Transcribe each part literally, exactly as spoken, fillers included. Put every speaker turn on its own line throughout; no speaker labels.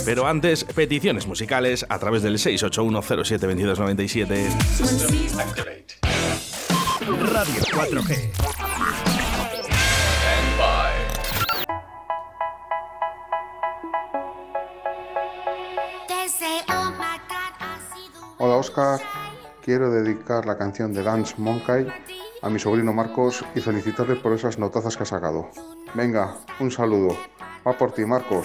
Pero antes, peticiones musicales a través del seis ocho uno cero siete dos dos nueve siete.
Radio cuatro G.
Hola Oscar, quiero dedicar la canción de Dance Monkey a mi sobrino Marcos y felicitarle por esas notazas que ha sacado. Venga, un saludo. Va por ti, Marcos.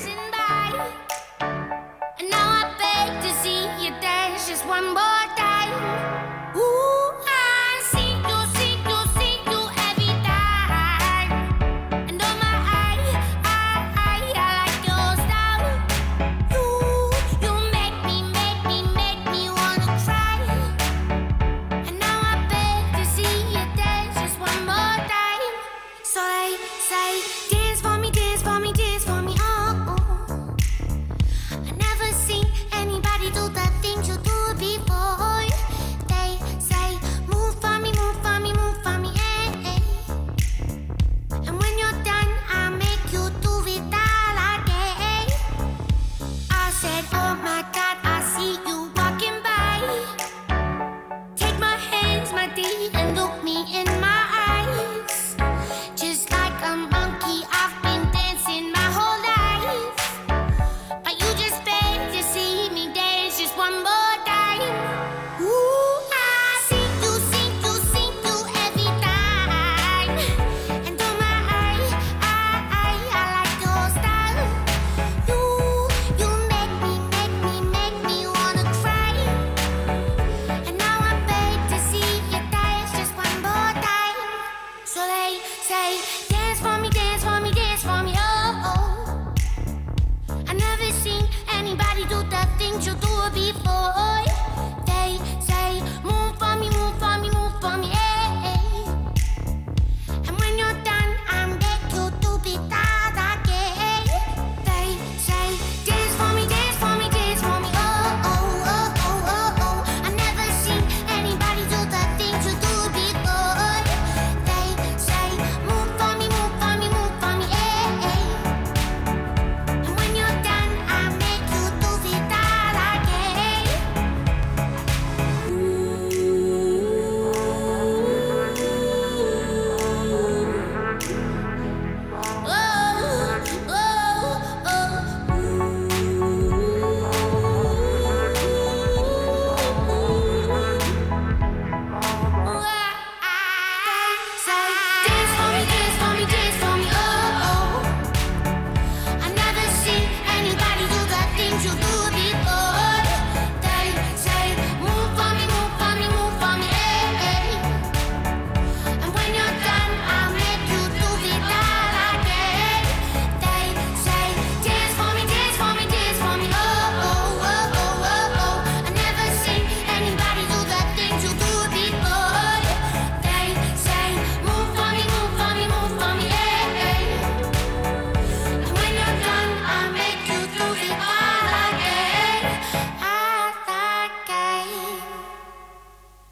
Anybody do the things you do before?